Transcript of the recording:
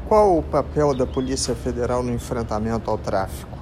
Qual o papel da Polícia Federal no enfrentamento ao tráfico?